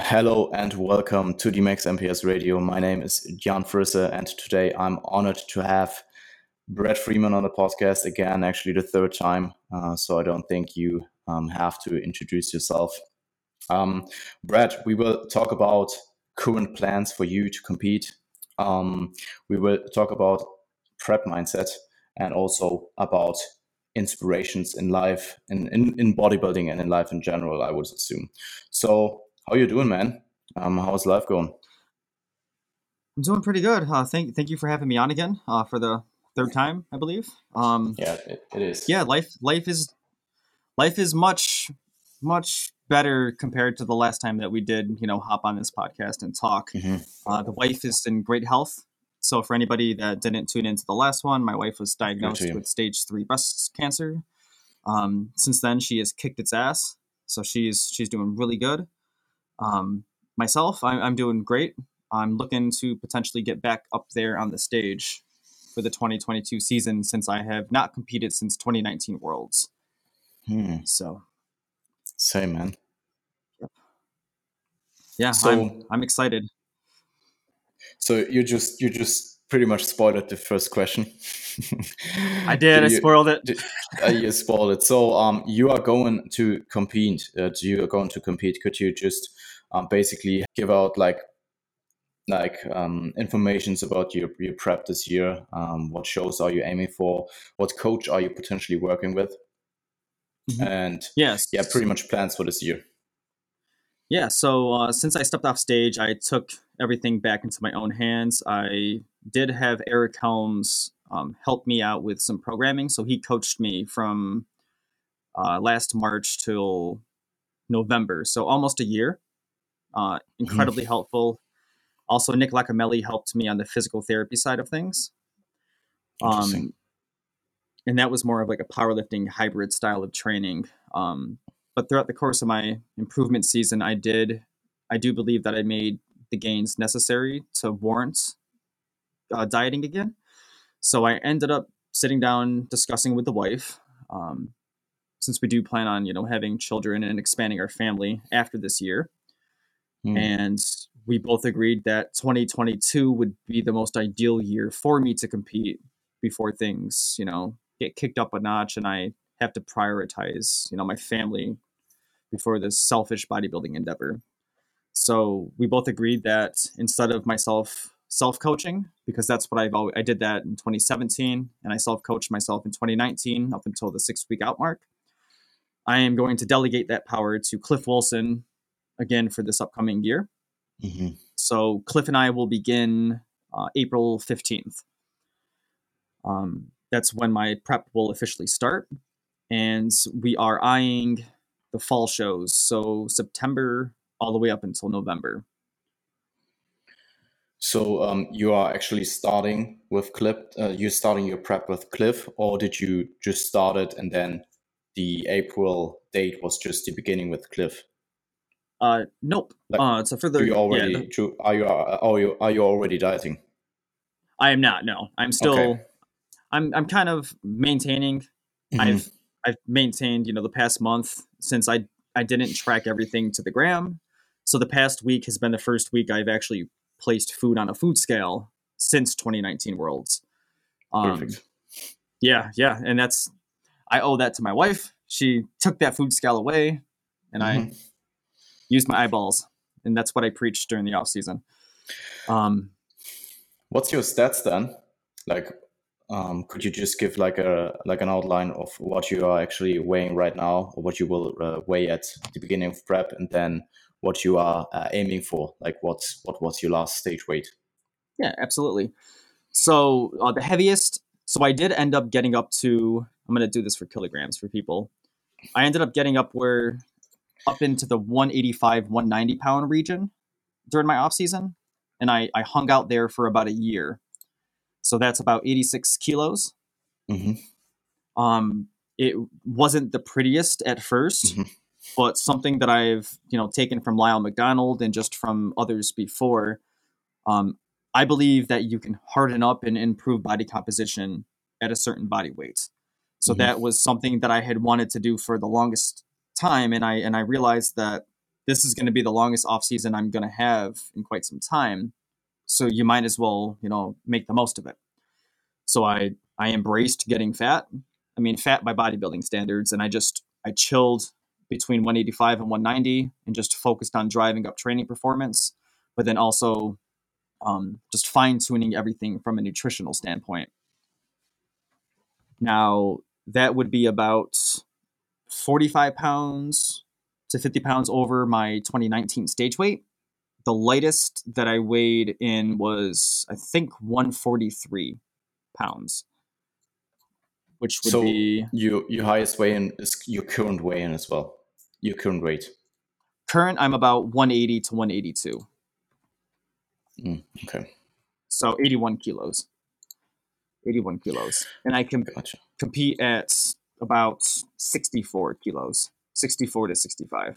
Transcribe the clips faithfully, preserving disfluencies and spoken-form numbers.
Hello and welcome to the Max M P S Radio. My name is Jan Frisse, and today I'm honored to have Brad Freeman on the podcast again, actually the third time. Uh, so I don't think you um, have to introduce yourself. Um, Brad, we will talk about current plans for you to compete. Um, we will talk about prep mindset and also about inspirations in life, in, in, in bodybuilding and in life in general, I would assume. So how you doing, man? Um, how's life going? I'm doing pretty good. Uh, thank thank you for having me on again uh, for the third time, I believe. Um, Yeah, it, it is. yeah, life life is life is much much better compared to the last time that we did, you know, hop on this podcast and talk. Mm-hmm. Uh, the wife is in great health. So for anybody that didn't tune into the last one, my wife was diagnosed with stage three breast cancer. Um, since then, she has kicked its ass. So she's she's doing really good. Um, myself, I, I'm doing great. I'm looking to potentially get back up there on the stage for the twenty twenty-two season since I have not competed since twenty nineteen Worlds. Hmm. So, same, man. Yeah, so, I'm I'm excited. So you just you just pretty much spoiled the first question. I did. I you, spoiled it. Did, uh, you spoiled it. So um, you are going to compete. Uh, you are going to compete. Could you just um, basically give out like like um, informations about your your prep this year? Um, what shows are you aiming for? What coach are you potentially working with? Mm-hmm. And yes, yeah, pretty much plans for this year. Yeah, so uh, since I stepped off stage, I took everything back into my own hands. I did have Eric Helms um, help me out with some programming. So he coached me from uh, last March till November, so almost a year. Uh, incredibly mm-hmm. helpful. Also, Nick Lacamelli helped me on the physical therapy side of things. Interesting. Um, and that was more of like a powerlifting hybrid style of training. Um, but throughout the course of my improvement season, I did, I do believe that I made the gains necessary to warrant uh, dieting again. So I ended up sitting down, discussing with the wife, um, since we do plan on, you know, having children and expanding our family after this year. Mm. And we both agreed that twenty twenty-two would be the most ideal year for me to compete before things, you know, get kicked up a notch and I have to prioritize, you know, my family before this selfish bodybuilding endeavor. So we both agreed that instead of myself self-coaching, because that's what I've always, I did that in twenty seventeen and I self-coached myself in twenty nineteen up until the six week out mark. I am going to delegate that power to Cliff Wilson again for this upcoming year. Mm-hmm. So Cliff and I will begin uh, April fifteenth. Um, that's when my prep will officially start. And we are eyeing the fall shows. So September all the way up until November. So um, you are actually starting with Cliff, uh, you're starting your prep with Cliff, or did you just start it and then the April date was just the beginning with Cliff? Uh, nope. Like, uh, so for the, do you already, yeah, the, are you, are you, are you already dieting? I am not, no. I'm still, okay. I'm, I'm kind of maintaining. Mm-hmm. I've, I've maintained, you know, the past month since I, I didn't track everything to the gram. So the past week has been the first week I've actually placed food on a food scale since twenty nineteen Worlds. Um, Perfect. Yeah, yeah. And that's, I owe that to my wife. She took that food scale away and mm-hmm. I used my eyeballs. And that's what I preached during the off season. Um, What's your stats then? Like, um, could you just give like a like an outline of what you are actually weighing right now, or what you will uh, weigh at the beginning of prep, and then what you are uh, aiming for? Like, what's what was your last stage weight? Yeah, absolutely. So uh, the heaviest. So I did end up getting up to. I'm going to do this for kilograms for people. I ended up getting up where up into the one eighty-five, one ninety pound region during my off season, and I I hung out there for about a year. So that's about eighty-six kilos. Mm-hmm. Um, it wasn't the prettiest at first, mm-hmm. but something that I've, you know, taken from Lyle McDonald and just from others before. Um, I believe that you can harden up and improve body composition at a certain body weight. So mm-hmm. that was something that I had wanted to do for the longest time. And I, and I realized that this is going to be the longest off season I'm going to have in quite some time. So you might as well, you know, make the most of it. So I, I embraced getting fat. I mean, fat by bodybuilding standards. And I just, I chilled between one eighty-five and one ninety and just focused on driving up training performance, but then also um, just fine tuning everything from a nutritional standpoint. Now that would be about forty-five pounds to fifty pounds over my twenty nineteen stage weight. The lightest that I weighed in was, I think, one forty-three pounds, which would so be your your highest weigh-in is your current weigh-in as well. Your current weight. Current, I'm about one eighty to one eighty-two. Mm, okay. So eighty-one kilos. eighty-one kilos. And I can Gotcha. compete at about sixty-four kilos, sixty-four to sixty-five.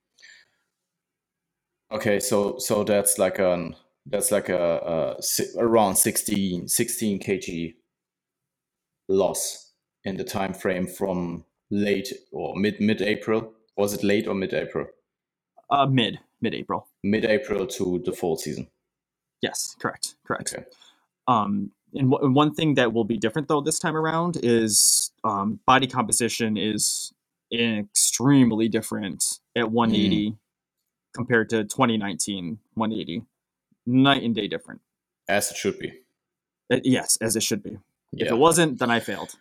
Okay, so so that's like an that's like a, a around sixteen, sixteen kilograms loss in the time frame from late or mid mid April. Was it late or mid April? Uh, mid mid April. Mid April to the fall season. Yes, correct, correct. Okay. Um, and w- one thing that will be different though this time around is um, body composition is extremely different at one eighty mm. compared to twenty nineteen one eighty. Night and day different. As it should be. It, yes, as it should be. Yeah. If it wasn't, then I failed.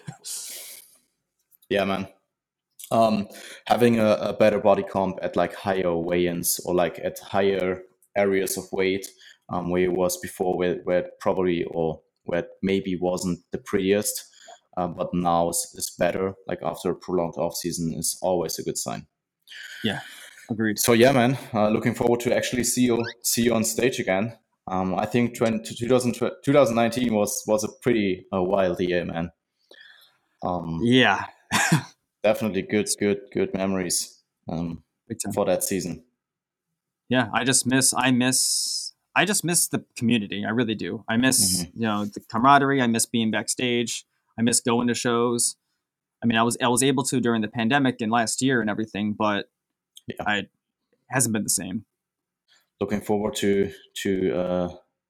Yeah, man. Um, having a, a better body comp at like higher weigh-ins or like at higher areas of weight um, where it was before, where, where it probably or where it maybe wasn't the prettiest, uh, but now is, is better. Like after a prolonged off season is always a good sign. Yeah, agreed. So yeah, man, uh, looking forward to actually see you see you on stage again. Um, I think twenty, twenty nineteen was was a pretty uh, wild year, man. Um, yeah. Definitely good, good, good memories um, for that season. Yeah, I just miss, I miss, I just miss the community. I really do. I miss, mm-hmm. you know, the camaraderie. I miss being backstage. I miss going to shows. I mean, I was, I was able to during the pandemic and last year and everything, but yeah. I it hasn't been the same. Looking forward to to uh,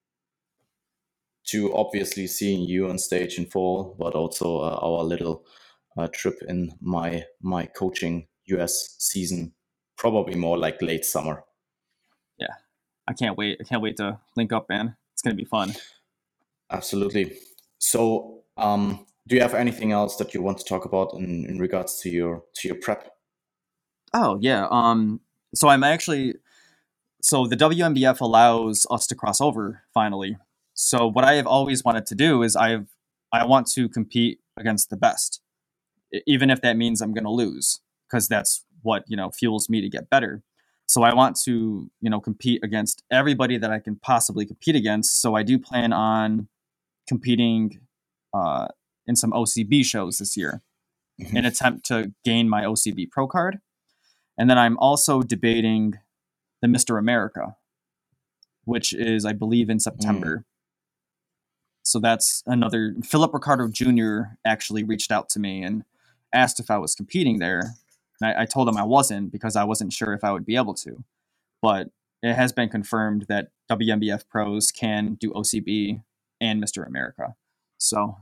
to obviously seeing you on stage in fall, but also uh, our little. Uh, trip in my my coaching U S season, probably more like late summer. Yeah, I can't wait. I can't wait to link up, man. It's gonna be fun. Absolutely. So, um, do you have anything else that you want to talk about in, in regards to your to your prep? Oh yeah. Um. So I'm actually. So the W M B F allows us to cross over finally. So what I have always wanted to do is I've I want to compete against the best. Even if that means I'm going to lose, because that's what, you know, fuels me to get better. So I want to, you know, compete against everybody that I can possibly compete against. So I do plan on competing uh, in some O C B shows this year mm-hmm. in an attempt to gain my O C B pro card. And then I'm also debating the Mister America, which is, I believe, in September. Mm. So that's another. Philip Ricardo Junior actually reached out to me and asked if I was competing there. And I, I told him I wasn't because I wasn't sure if I would be able to. But it has been confirmed that W M B F pros can do O C B and Mister America. So,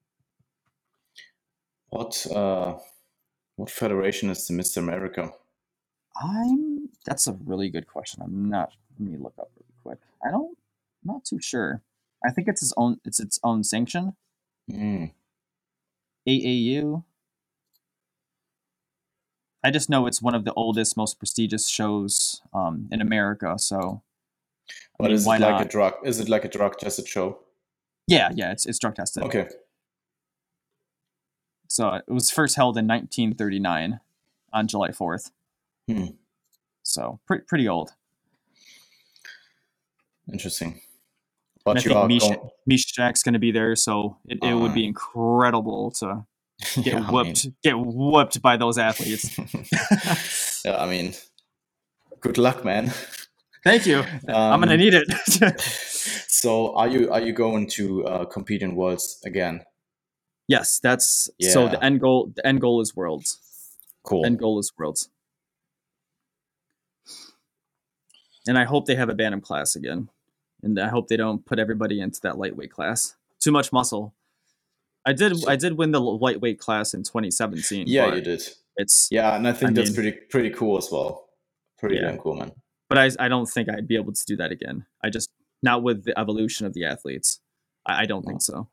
what uh, what federation is the Mister America? I'm. That's a really good question. I'm not. Let me look up really quick. I don't. I'm not too sure. I think it's its own. It's its own sanction. Mm. A A U. I just know it's one of the oldest, most prestigious shows um, in America. So, but I mean, is it like not? a drug? Is it like a drug tested show? Yeah, yeah, it's it's drug tested. Okay. So it was first held in nineteen thirty-nine on July fourth. Hmm. So pretty pretty old. Interesting. But and I think Mish, going... Mishak's going to be there, so it, it uh, would be incredible to. Get yeah, whooped, I mean... get whooped by those athletes. Yeah, I mean, good luck, man. Thank you. Um, I'm gonna need it. So, are you are you going to uh, compete in Worlds again? Yes, that's yeah. So the end goal. The end goal is Worlds. Cool. End goal is Worlds. And I hope they have a Bantam class again. And I hope they don't put everybody into that lightweight class. Too much muscle. I did So, I did win the lightweight class in twenty seventeen. yeah, But you did. it's Yeah, and I think I that's mean, pretty pretty cool as well. Pretty yeah. damn cool, man. But I I don't think I'd be able to do that again. I just not with the evolution of the athletes. I, I don't No. think so.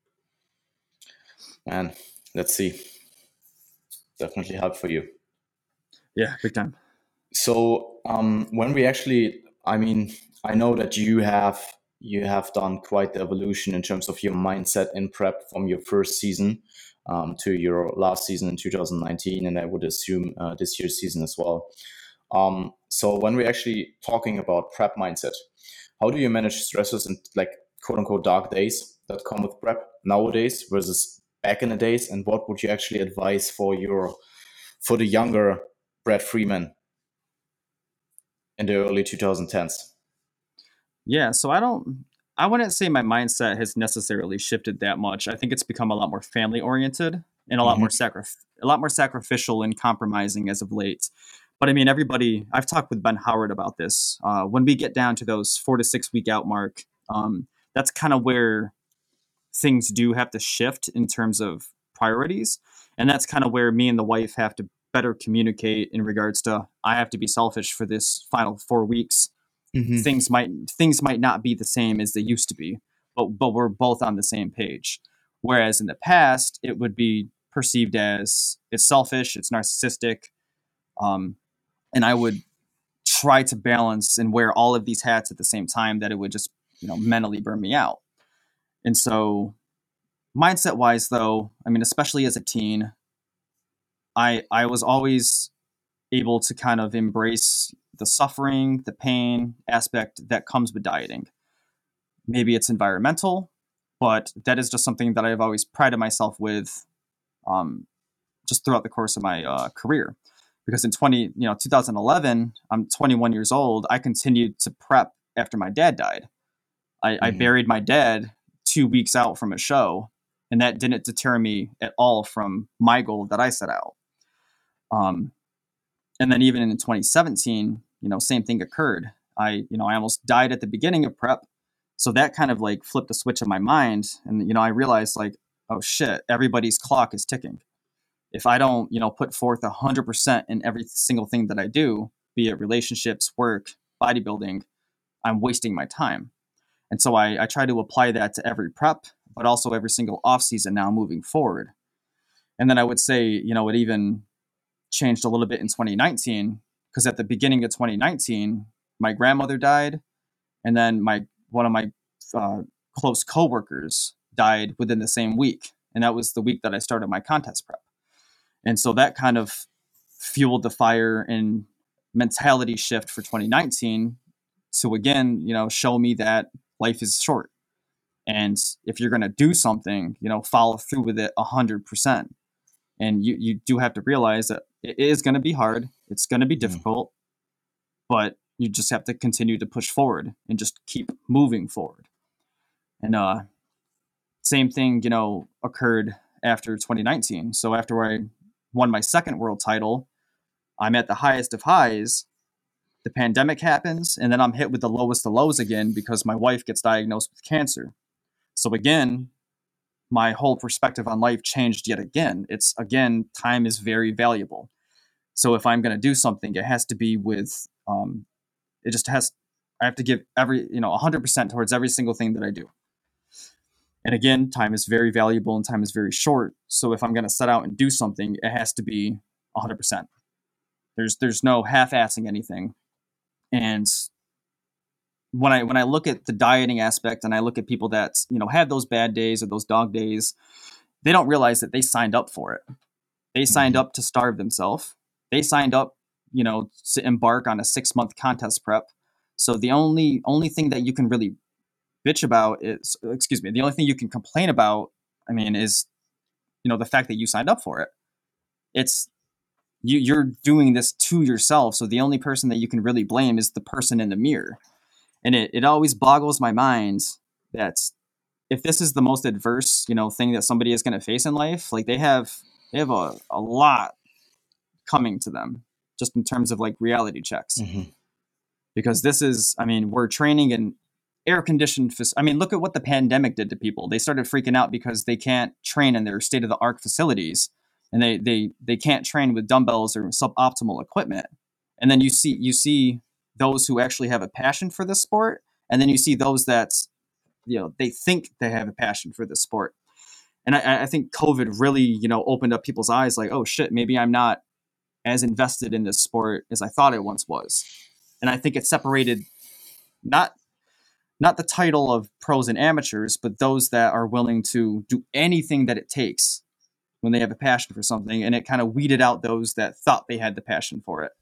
Man, let's see. Definitely help for you. Yeah, big time. So um, when we actually, I mean, I know that you have you have done quite the evolution in terms of your mindset in prep from your first season um, to your last season in two thousand nineteen, and I would assume uh, this year's season as well. Um, so when we're actually talking about prep mindset, how do you manage stresses and like quote unquote dark days that come with prep nowadays versus back in the days? And what would you actually advise for your for the younger Brad Freeman in the early twenty tens? Yeah, so I don't I wouldn't say my mindset has necessarily shifted that much. I think it's become a lot more family oriented and a lot Mm-hmm. more sacri- a lot more sacrificial and compromising as of late. But I mean, everybody, I've talked with Ben Howard about this. Uh, when we get down to those four to six week out mark, um, that's kind of where things do have to shift in terms of priorities. And that's kind of where me and the wife have to better communicate in regards to, I have to be selfish for this final four weeks. Mm-hmm. Things might things might not be the same as they used to be, but but we're both on the same page. Whereas in the past, it would be perceived as it's selfish, it's narcissistic, um, and I would try to balance and wear all of these hats at the same time that it would just, you know, mentally burn me out. And so mindset wise though, I mean, especially as a teen, I I was always able to kind of embrace the suffering, the pain aspect that comes with dieting. Maybe it's environmental, but that is just something that I've always prided myself with, um, just throughout the course of my uh, career. Because in twenty, you know, two thousand eleven, I'm twenty-one years old. I continued to prep after my dad died. I, mm-hmm. I buried my dad two weeks out from a show, and that didn't deter me at all from my goal that I set out. Um, and then even in twenty seventeen, you know, same thing occurred. I, you know, I almost died at the beginning of prep. So that kind of like flipped a switch in my mind. And, you know, I realized like, oh shit, everybody's clock is ticking. If I don't, you know, put forth a hundred percent in every single thing that I do, be it relationships, work, bodybuilding, I'm wasting my time. And so I, I try to apply that to every prep, but also every single off season now moving forward. And then I would say, you know, it even changed a little bit in twenty nineteen, because at the beginning of twenty nineteen, my grandmother died. And then my, one of my uh, close coworkers died within the same week. And that was the week that I started my contest prep. And so that kind of fueled the fire and mentality shift for twenty nineteen to, again, you know, show me that life is short. And if you're going to do something, you know, follow through with it a hundred percent. And you, you do have to realize that it is going to be hard. It's going to be difficult, mm. but you just have to continue to push forward and just keep moving forward. And uh, same thing, you know, occurred after twenty nineteen. So after I won my second world title, I'm at the highest of highs. The pandemic happens, and then I'm hit with the lowest of lows again because my wife gets diagnosed with cancer. So again, my whole perspective on life changed yet again. It's, again, time is very valuable. So if I'm going to do something, it has to be with, um, it just has, I have to give every, you know, one hundred percent towards every single thing that I do. And again, time is very valuable and time is very short. So if I'm going to set out and do something, it has to be one hundred percent. There's there's no half-assing anything. And when I when I look at the dieting aspect and I look at people that, you know, have those bad days or those dog days, they don't realize that they signed up for it. They signed up to starve themselves. They signed up, you know, to embark on a six-month contest prep. So the only only thing that you can really bitch about is, excuse me, the only thing you can complain about, I mean, is, you know, the fact that you signed up for it. It's, you, you're doing this to yourself. So the only person that you can really blame is the person in the mirror. And it, it always boggles my mind that if this is the most adverse, you know, thing that somebody is going to face in life, like they have, they have a, a lot coming to them just in terms of like reality checks. Mm-hmm. because this is, I mean, we're training in air-conditioned, I mean, look at what the pandemic did to people. They started freaking out because they can't train in their state-of-the-art facilities, and they they they can't train with dumbbells or suboptimal equipment. And then you see you see those who actually have a passion for this sport, and then you see those that, you know, they think they have a passion for this sport. And I, I think COVID really, you know, opened up people's eyes, like, oh shit, maybe I'm not as invested in this sport as I thought it once was. And I think it separated not not the title of pros and amateurs, but those that are willing to do anything that it takes when they have a passion for something. And it kind of weeded out those that thought they had the passion for it.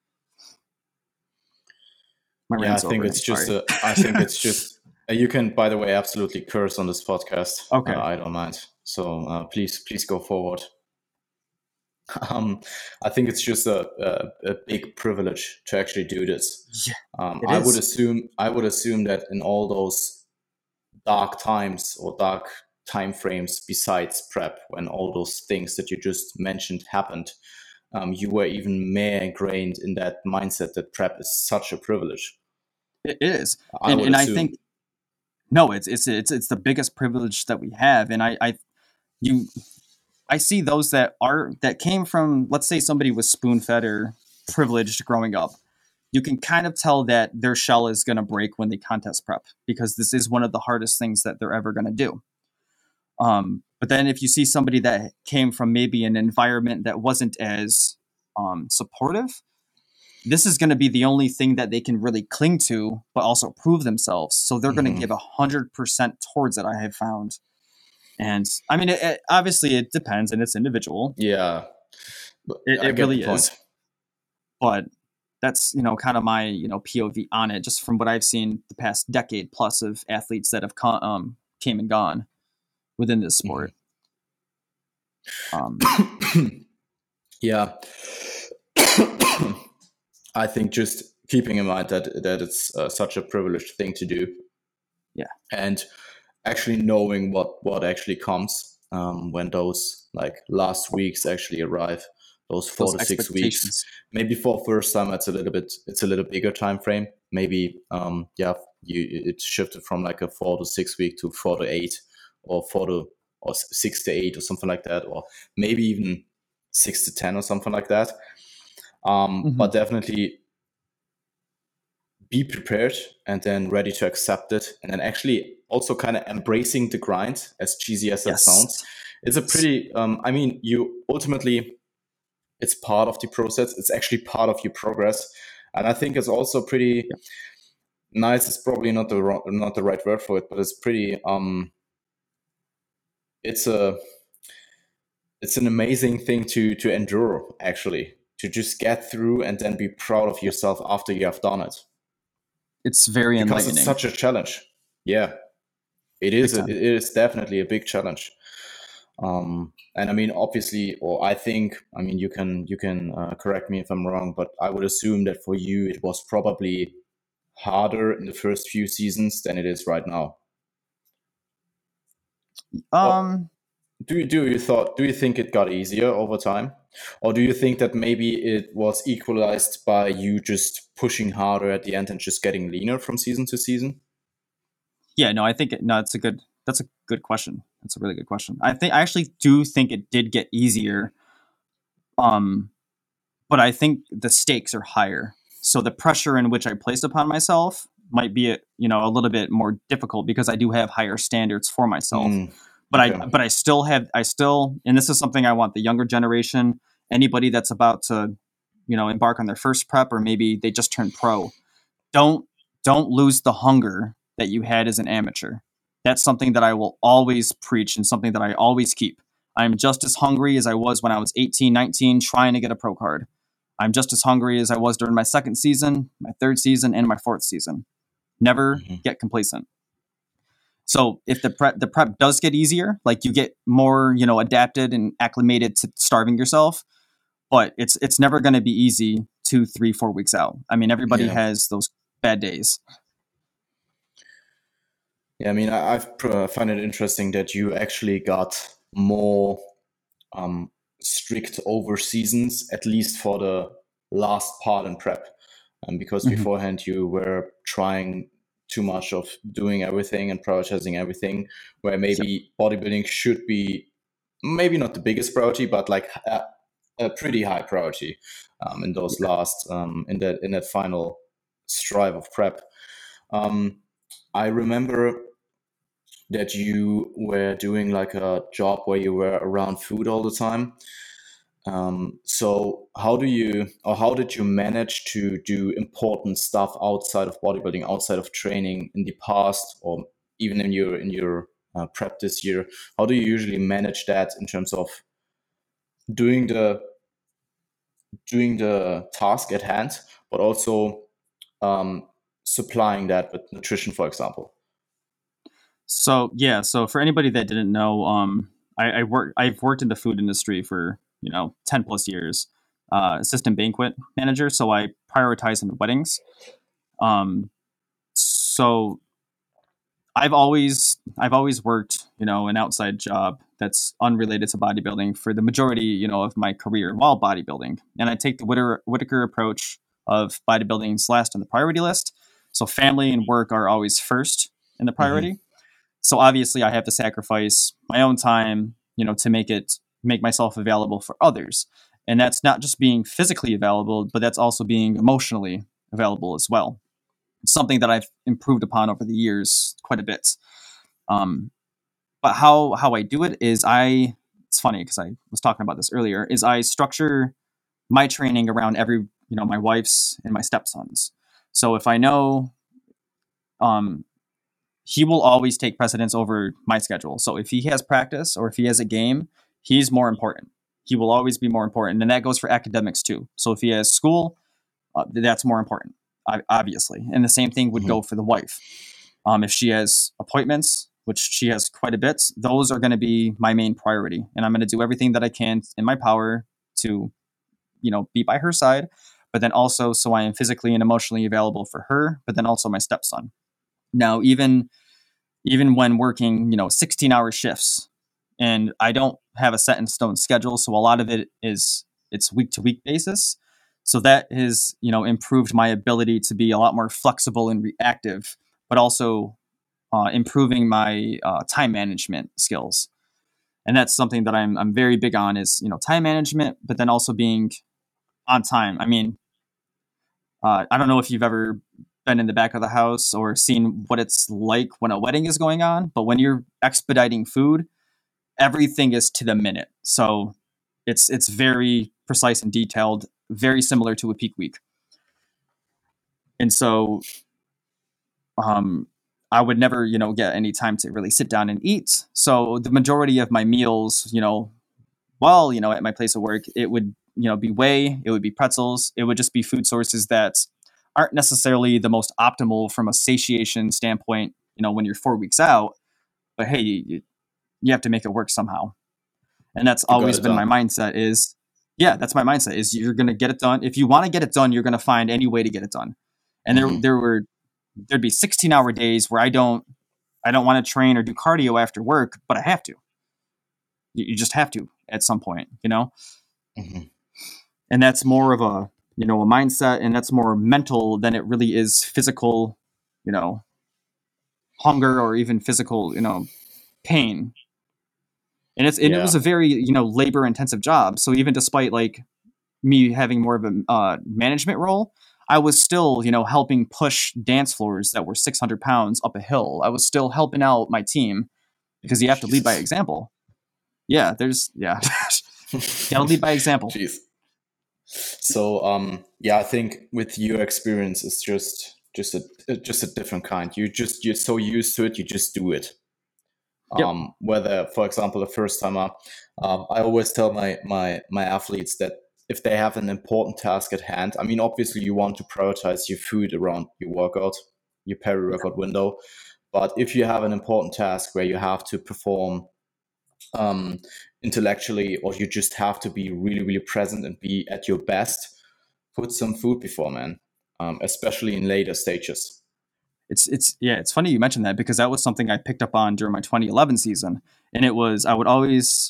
My yeah, I think over. it's just, a, I think it's just, you can, by the way, absolutely curse on this podcast. Okay. Uh, I don't mind. So uh, please, please go forward. Um, I think it's just a, a, a big privilege to actually do this. Yeah, um, I is. would assume I would assume that in all those dark times or dark time frames besides prep, when all those things that you just mentioned happened, um, you were even more ingrained in that mindset that prep is such a privilege. It is, I and, and I think no, it's it's it's it's the biggest privilege that we have, and I, I you. I see those that are that came from, let's say somebody was spoon-fed or privileged growing up. You can kind of tell that their shell is going to break when they contest prep, because this is one of the hardest things that they're ever going to do. Um, but then if you see somebody that came from maybe an environment that wasn't as um, supportive, this is going to be the only thing that they can really cling to, but also prove themselves. So they're mm-hmm. going to give one hundred percent towards it, I have found. And I mean, it, it, obviously it depends and it's individual. Yeah, it, it really is. But that's, you know, kind of my, you know, P O V on it, just from what I've seen the past decade plus of athletes that have come, um, came and gone within this sport. Mm-hmm. Um, yeah. I think just keeping in mind that, that it's uh, such a privileged thing to do. Yeah. And actually knowing what, what actually comes um, when those like last weeks actually arrive, those four those to six weeks. Maybe for first time, it's a little bit, it's a little bigger time frame. Maybe, um, yeah, you it shifted from like a four to six week to four to eight, or four to or six to eight or something like that, or maybe even six to ten or something like that. Um, mm-hmm. But definitely be prepared and then ready to accept it, and then actually also kind of embracing the grind, as cheesy as that yes. sounds. It's a pretty, um, I mean, you ultimately, it's part of the process. It's actually part of your progress. And I think it's also pretty yeah. nice. It's probably not the wrong, not the right word for it, but it's pretty, um, it's a, it's an amazing thing to, to endure, actually, to just get through and then be proud of yourself after you have done it. It's very because enlightening. It's such a challenge. Yeah. It is. A, it is definitely a big challenge, um, and I mean, obviously, or I think, I mean, you can you can uh, correct me if I'm wrong, but I would assume that for you it was probably harder in the first few seasons than it is right now. Um, or do you do you thought do you think it got easier over time, or do you think that maybe it was equalized by you just pushing harder at the end and just getting leaner from season to season? Yeah, no, I think it, no, it's a good, that's a good question. That's a really good question. I think, I actually do think it did get easier. Um, but I think the stakes are higher. So the pressure in which I placed upon myself might be, you know, a little bit more difficult because I do have higher standards for myself. Mm, but okay. I, but I still have, I still, and this is something I want the younger generation, anybody that's about to, you know, embark on their first prep, or maybe they just turned pro. Don't, don't lose the hunger that you had as an amateur. That's something that I will always preach and something that I always keep. I'm just as hungry as I was when I was eighteen, nineteen, trying to get a pro card. I'm just as hungry as I was during my second season, my third season, and my fourth season. Never mm-hmm. get complacent. So if the prep, the prep does get easier, like you get more, you know, adapted and acclimated to starving yourself, but it's it's never going to be easy two, three, four weeks out. I mean, everybody yeah. has those bad days. Yeah, I mean, I I've, uh, find it interesting that you actually got more um, strict over seasons, at least for the last part in prep. um, because Mhm. beforehand you were trying too much of doing everything and prioritizing everything, where maybe bodybuilding should be maybe not the biggest priority, but like a, a pretty high priority um, in those last um, in that in that final strive of prep. Um, I remember that you were doing like a job where you were around food all the time. Um, so how do you, or how did you manage to do important stuff outside of bodybuilding, outside of training in the past, or even in your in your uh, prep this year? How do you usually manage that in terms of doing the doing the task at hand, but also um, supplying that with nutrition, for example? So yeah, so for anybody that didn't know, um, I, I work I've worked in the food industry for you know ten plus years, uh, assistant banquet manager. So I prioritize in weddings. Um, so I've always I've always worked you know an outside job that's unrelated to bodybuilding for the majority you know of my career while bodybuilding, and I take the Whittaker, Whittaker approach of bodybuilding's last on the priority list. So family and work are always first in the priority. Mm-hmm. So obviously I have to sacrifice my own time, you know, to make it make myself available for others. And that's not just being physically available, but that's also being emotionally available as well. It's something that I've improved upon over the years quite a bit. Um, but how how I do it is I it's funny because I was talking about this earlier, is I structure my training around every, you know, my wife's and my stepson's. So if I know um he will always take precedence over my schedule. So if he has practice or if he has a game, he's more important. He will always be more important. And that goes for academics too. So if he has school, uh, that's more important, obviously. And the same thing would Mm-hmm. go for the wife. Um, if she has appointments, which she has quite a bit, those are going to be my main priority. And I'm going to do everything that I can in my power to, you know, be by her side, but then also so I am physically and emotionally available for her, but then also my stepson. Now, even even when working, you know, sixteen hour shifts, and I don't have a set in stone schedule, so a lot of it is it's week to week basis. So that has, you know, improved my ability to be a lot more flexible and reactive, but also uh, improving my uh, time management skills. And that's something that I'm I'm very big on is, you know, time management, but then also being on time. I mean, uh, I don't know if you've ever been in the back of the house or seen what it's like when a wedding is going on, but when you're expediting food, everything is to the minute. So it's it's very precise and detailed, very similar to a peak week. And so um, I would never, you know, get any time to really sit down and eat. So the majority of my meals, you know, while, you know, at my place of work, it would, you know, be whey, it would be pretzels, it would just be food sources that aren't necessarily the most optimal from a satiation standpoint, you know, when you're four weeks out, but hey, you, you have to make it work somehow. And that's You got always it been done. my mindset is, yeah, that's my mindset is you're going to get it done. If you want to get it done, you're going to find any way to get it done. And Mm-hmm. there, there were, there'd be sixteen hour days where I don't, I don't want to train or do cardio after work, but I have to. You, you just have to at some point, you know? Mm-hmm. And that's more of a, you know, a mindset, and that's more mental than it really is physical, you know, hunger or even physical, you know, pain. And it's, and Yeah. it was a very, you know, labor intensive job. So even despite like me having more of a uh, management role, I was still, you know, helping push dance floors that were six hundred pounds up a hill. I was still helping out my team because you have to lead by Jesus. example. Yeah, there's, yeah. You gotta lead by example. Jeez. So um, yeah, I think with your experience, it's just just a just a different kind. You just you're so used to it, you just do it. Yep. Um, whether, for example, the first timer, um, I always tell my my my athletes that if they have an important task at hand, I mean, obviously you want to prioritize your food around your workout, your peri-workout window, but if you have an important task where you have to perform um, intellectually, or you just have to be really, really present and be at your best, put some food before, man, um, especially in later stages. It's, it's, yeah, it's funny you mentioned that because that was something I picked up on during my twenty eleven season. And it was, I would always,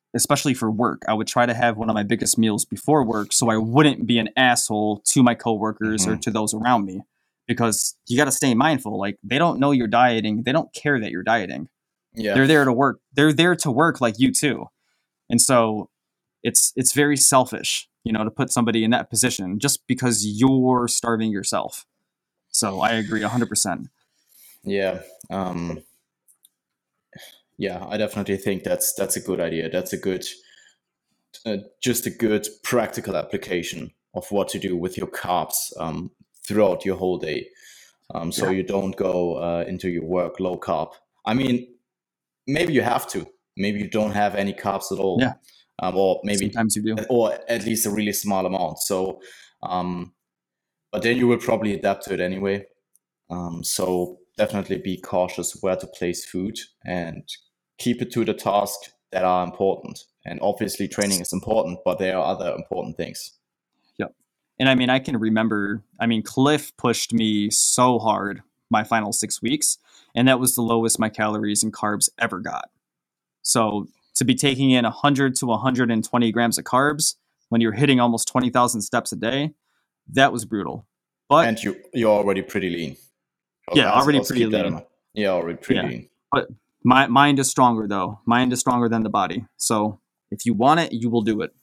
especially for work, I would try to have one of my biggest meals before work so I wouldn't be an asshole to my coworkers mm-hmm. or to those around me, because you got to stay mindful. Like, they don't know you're dieting. They don't care that you're dieting. Yeah. They're there to work. They're there to work like you too. And so it's, it's very selfish, you know, to put somebody in that position just because you're starving yourself. So I agree a hundred percent. Yeah. Um, Yeah, I definitely think that's that's a good idea. That's a good, uh, just a good practical application of what to do with your carbs um, throughout your whole day. Um, so yeah. you don't go uh, into your work low carb. I mean, maybe you have to. Maybe you don't have any carbs at all. Yeah. Um, or maybe sometimes you do, or at least a really small amount. So, um, but then you will probably adapt to it anyway. Um, so definitely be cautious where to place food and keep it to the tasks that are important. And obviously training is important, but there are other important things. Yep. And I mean, I can remember, I mean, Cliff pushed me so hard my final six weeks, and that was the lowest my calories and carbs ever got. So to be taking in one hundred to one hundred twenty grams of carbs when you're hitting almost twenty thousand steps a day, that was brutal. But and you, you're already pretty lean. Yeah, I'll, already I'll pretty lean. Yeah, already pretty yeah. lean. But my mind is stronger, though. Mind is stronger than the body. So if you want it, you will do it.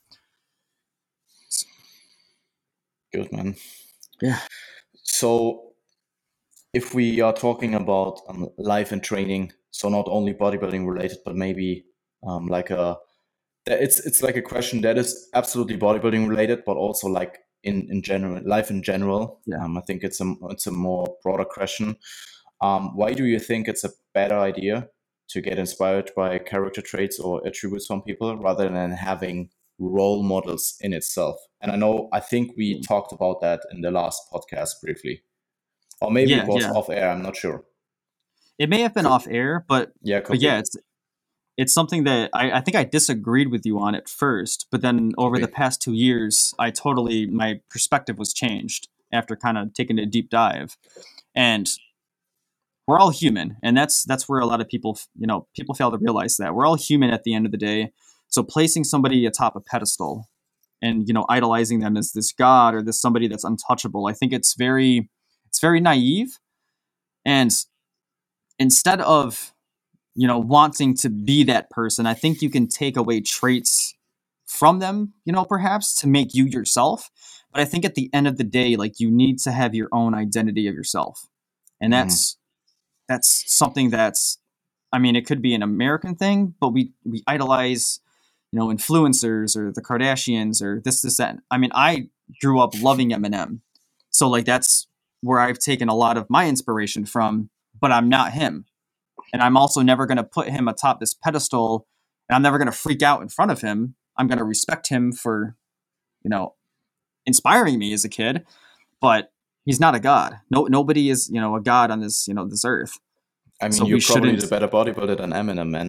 Good, man. Yeah. So if we are talking about um, life and training, so not only bodybuilding related, but maybe um, like a, it's it's like a question that is absolutely bodybuilding related, but also like in, in general, life in general. Yeah. Um, I think it's a, it's a more broader question. Um, why do you think it's a better idea to get inspired by character traits or attributes from people rather than having role models in itself? And I know, I think we mm. talked about that in the last podcast briefly, or maybe yeah, it was yeah. off air. I'm not sure. It may have been could, off air, but yeah, but yeah, it's it's something that I, I think I disagreed with you on at first, but then over the past two years, I totally, my perspective was changed after kind of taking a deep dive. And we're all human. And that's, that's where a lot of people, you know, people fail to realize that we're all human at the end of the day. So placing somebody atop a pedestal and, you know, idolizing them as this god or this somebody that's untouchable, I think it's very, it's very naive. And instead of, you know, wanting to be that person, I think you can take away traits from them, you know, perhaps to make you yourself. But I think at the end of the day, like, you need to have your own identity of yourself. And that's, mm. that's something that's, I mean, it could be an American thing, but we, we idolize, you know, influencers or the Kardashians or this, this, that. I mean, I grew up loving Eminem. So like, that's where I've taken a lot of my inspiration from, but I'm not him. And I'm also never going to put him atop this pedestal, and I'm never going to freak out in front of him. I'm going to respect him for, you know, inspiring me as a kid, but he's not a god. No, nobody is, you know, a god on this, you know, this earth. I mean, so you're probably the better bodybuilder than Eminem, man.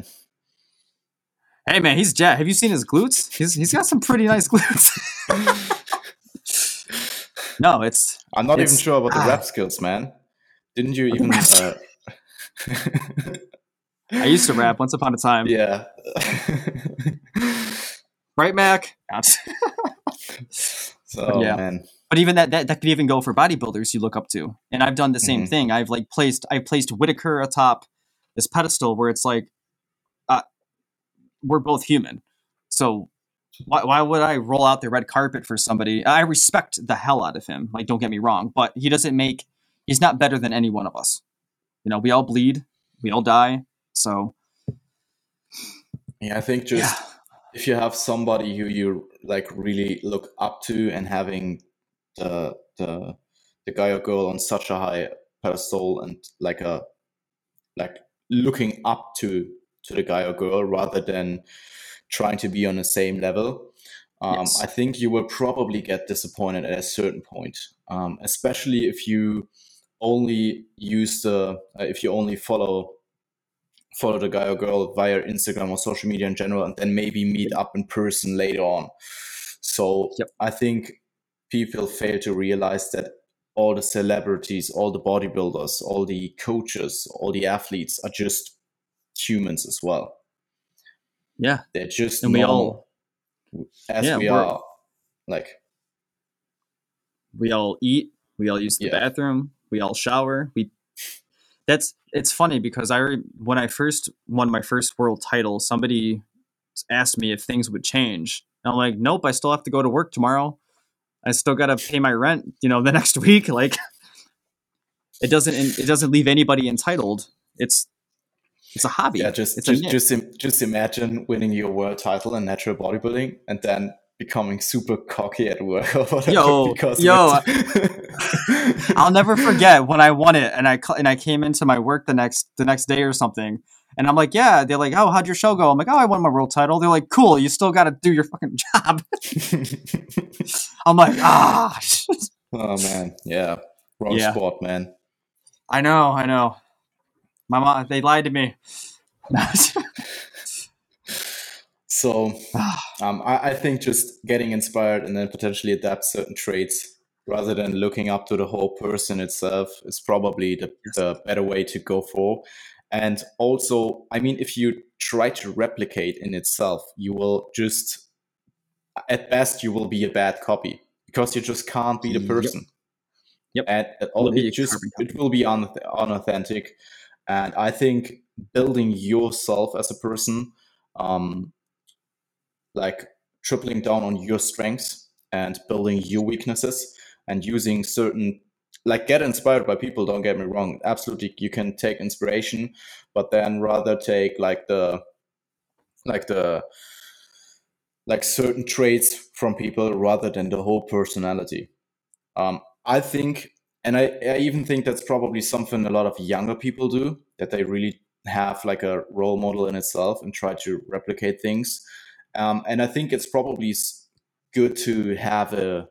Hey, man, he's jacked. Have you seen his glutes? He's he's got some pretty nice glutes. No, it's. I'm not it's, even sure about the ah. rap skills, man. Didn't you even? Uh, I used to rap once upon a time. Yeah. Right, Mac? So, yeah. Man. But even that, that, that could even go for bodybuilders you look up to. And I've done the same mm-hmm. thing. I've like placed, I've placed Whitaker atop this pedestal where it's like, uh, we're both human. So why, why would I roll out the red carpet for somebody? I respect the hell out of him. Like, don't get me wrong, but he doesn't make, he's not better than any one of us. You know, we all bleed, we all die. So, yeah, I think just yeah. if you have somebody who you like really look up to and having the the the guy or girl on such a high pedestal and like a like looking up to to the guy or girl rather than trying to be on the same level, um, yes. I think you will probably get disappointed at a certain point, um, especially if you only use the uh, if you only follow follow the guy or girl via Instagram or social media in general, and then maybe meet up in person later on. So yep. I think people fail to realize that all the celebrities, all the bodybuilders, all the coaches, all the athletes are just humans as well. Yeah. They're just And we normal all, as yeah, we we're, are. Like, we all eat, we all use the yeah. bathroom, we all shower. We, that's, it's funny because I, re- when I first won my first world title, somebody asked me if things would change. And I'm like, nope, I still have to go to work tomorrow. I still got to pay my rent, you know, the next week. Like, it doesn't, it doesn't leave anybody entitled. It's, it's a hobby. Yeah, just it's just a just im- just imagine winning your world title in natural bodybuilding and then becoming super cocky at work or whatever yo, because yo, of it. I'll never forget when I won it, and I and I came into my work the next the next day or something, and I'm like, yeah. They're like, oh, how'd your show go? I'm like, oh, I won my world title. They're like, cool. You still got to do your fucking job. I'm like, ah. Oh man, yeah, wrong Yeah. sport, man. I know, I know. My mom, they lied to me. So um, I, I think just getting inspired and then potentially adapt certain traits rather than looking up to the whole person itself is probably the, the better way to go for. And also, I mean, if you try to replicate in itself, you will just, at best, you will be a bad copy because you just can't be the person. Yep. And it, all, it just it will be un, unauthentic. And I think building yourself as a person, um, like tripling down on your strengths and building your weaknesses and using certain, like, get inspired by people, don't get me wrong, absolutely, you can take inspiration, but then rather take like the like the like certain traits from people rather than the whole personality. um I think, and I, I even think that's probably something a lot of younger people do, that they really have like a role model in itself and try to replicate things. Um, and I think it's probably good to have a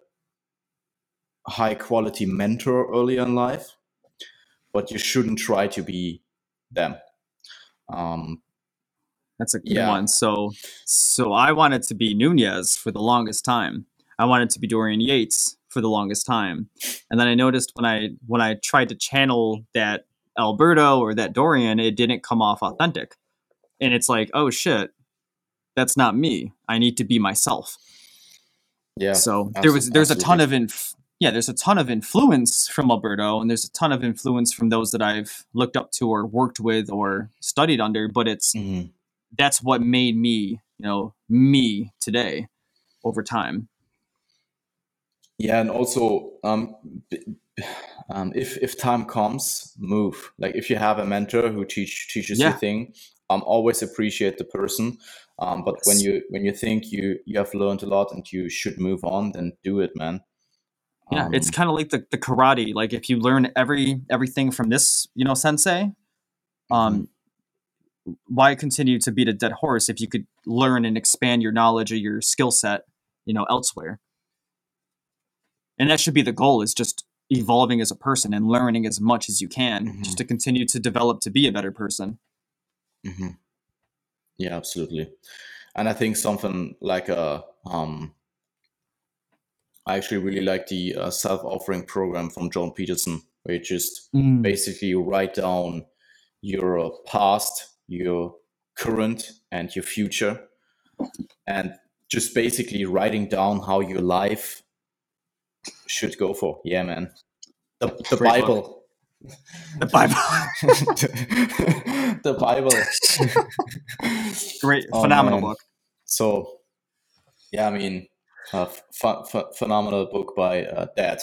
high quality mentor early in life, but you shouldn't try to be them. Um, That's a good yeah. one. So, so I wanted to be Nunez for the longest time. I wanted to be Dorian Yates for the longest time, and then I noticed when I when I tried to channel that Alberto or that Dorian, it didn't come off authentic. And it's like, oh shit, that's not me. I need to be myself. Yeah. So there was there's absolutely. a ton of inf- yeah, there's a ton of influence from Alberto, and there's a ton of influence from those that I've looked up to or worked with or studied under. But it's mm-hmm. that's what made me, you know, me today over time. Yeah, and also um, um, if if time comes, move. Like if you have a mentor who teach teaches yeah. you thing, um, always appreciate the person. Um, but yes. when you when you think you you have learned a lot and you should move on, then do it, man. Yeah, um, it's kind of like the, the karate. Like if you learn every everything from this, you know, sensei, um, mm-hmm. why continue to beat a dead horse if you could learn and expand your knowledge or your skill set, you know, elsewhere? And that should be the goal, is just evolving as a person and learning as much as you can, mm-hmm. just to continue to develop to be a better person. Mm-hmm. Yeah, absolutely. And I think something like a, um, I actually really like the uh, self-offering program from John Peterson, where you just mm. basically write down your past, your current, and your future, and just basically writing down how your life should go for. Yeah, man. The, the Bible. Book. The Bible. The Bible. Great, oh, phenomenal man. book. So, yeah, I mean, uh, ph- ph- phenomenal book by uh, Dad.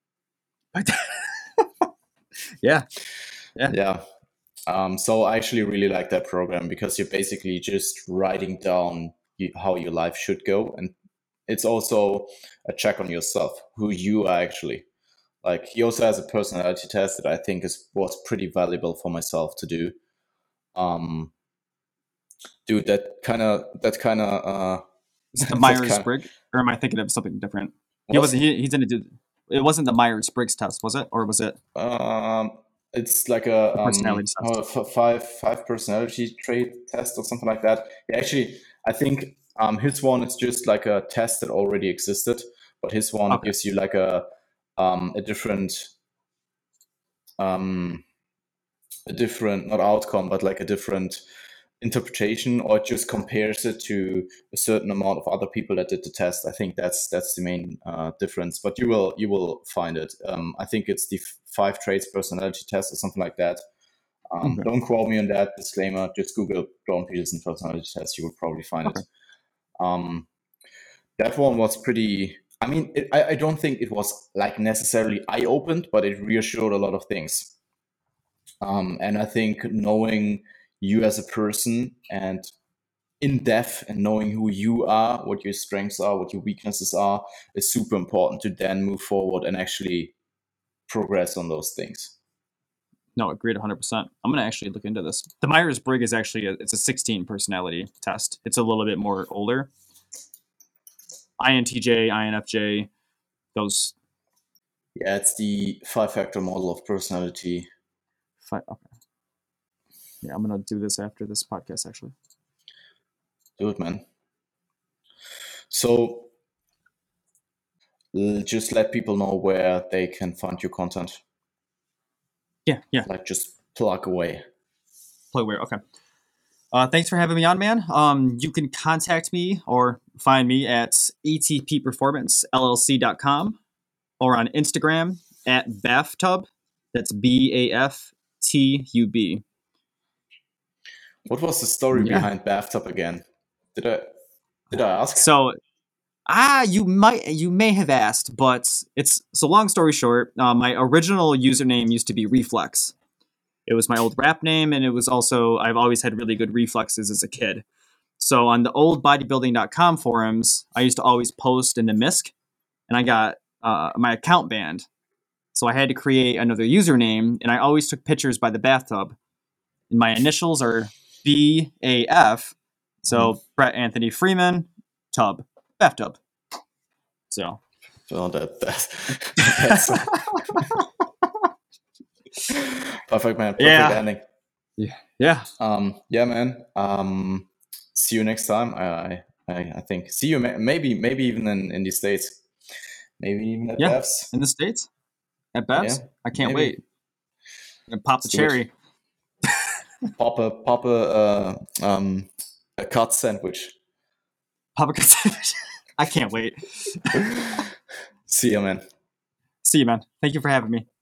yeah. Yeah. Yeah. Um, so I actually really like that program because you're basically just writing down you, how your life should go. And it's also a check on yourself, who you are actually. Like, he also has a personality test that I think is was pretty valuable for myself to do. Um, dude, that kind of that kind of uh, is it the Myers-Briggs, or am I thinking of something different? He wasn't. He, he didn't do. It wasn't the Myers-Briggs test, was it, or was it? Um, it's like a um, personality uh, f- five five personality trait test or something like that. Yeah, actually, I think um, his one is just like a test that already existed, but his one okay. gives you like a um, a different um, a different not outcome, but like a different interpretation, or it just compares it to a certain amount of other people that did the test. I think that's that's the main uh, difference. But you will you will find it. Um, I think it's the five traits personality test or something like that. Um, okay. Don't quote me on that. Disclaimer: just Google Jordan Peterson personality test. You will probably find okay. it. Um, that one was pretty. I mean, it, I, I don't think it was like necessarily eye-opened, but it reassured a lot of things. Um, and I think knowing you as a person and in depth and knowing who you are, what your strengths are, what your weaknesses are, is super important to then move forward and actually progress on those things. No, agreed one hundred percent. I'm going to actually look into this. The Myers-Briggs is actually, a, it's a sixteen personality test. It's a little bit more older. I N T J, I N F J, those. Yeah, it's the five-factor model of personality. Five, okay. Yeah, I'm going to do this after this podcast, actually. Do it, man. So just let people know where they can find your content. Yeah, yeah. Like just plug away. Plug away, okay. Uh, thanks for having me on, man. Um, you can contact me or find me at A T P performance L L C dot com or on Instagram at Bathtub. That's B A F T U B. What was the story yeah. behind Bathtub again? Did I did I ask? So, ah, you might you may have asked, but it's so. Long story short, uh, my original username used to be Reflex. It was my old rap name, and it was also I've always had really good reflexes as a kid. So on the old bodybuilding dot com forums, I used to always post in the M I S C, and I got uh, my account banned. So I had to create another username, and I always took pictures by the bathtub. And my initials are B A F. So mm-hmm. Brett Anthony Freeman, tub, bathtub. So. So that, that that's perfect, man. Perfect yeah. ending. Yeah. Yeah. Um, yeah, man. Um, see you next time. I, I, I think. See you maybe, maybe even in, in the States. Maybe even at yeah. B A F S. In the States? At B A F S? Yeah, I can't maybe. wait. I'm gonna pop the Let's cherry. pop a pop a uh, um a cut sandwich. Pop a cut sandwich. I can't wait. See you, man. See you, man. Thank you for having me.